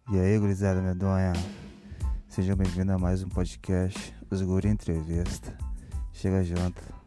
E aí, gurizada medonha, sejam bem-vindos a mais um podcast, Os Guri Entrevista. Chega junto.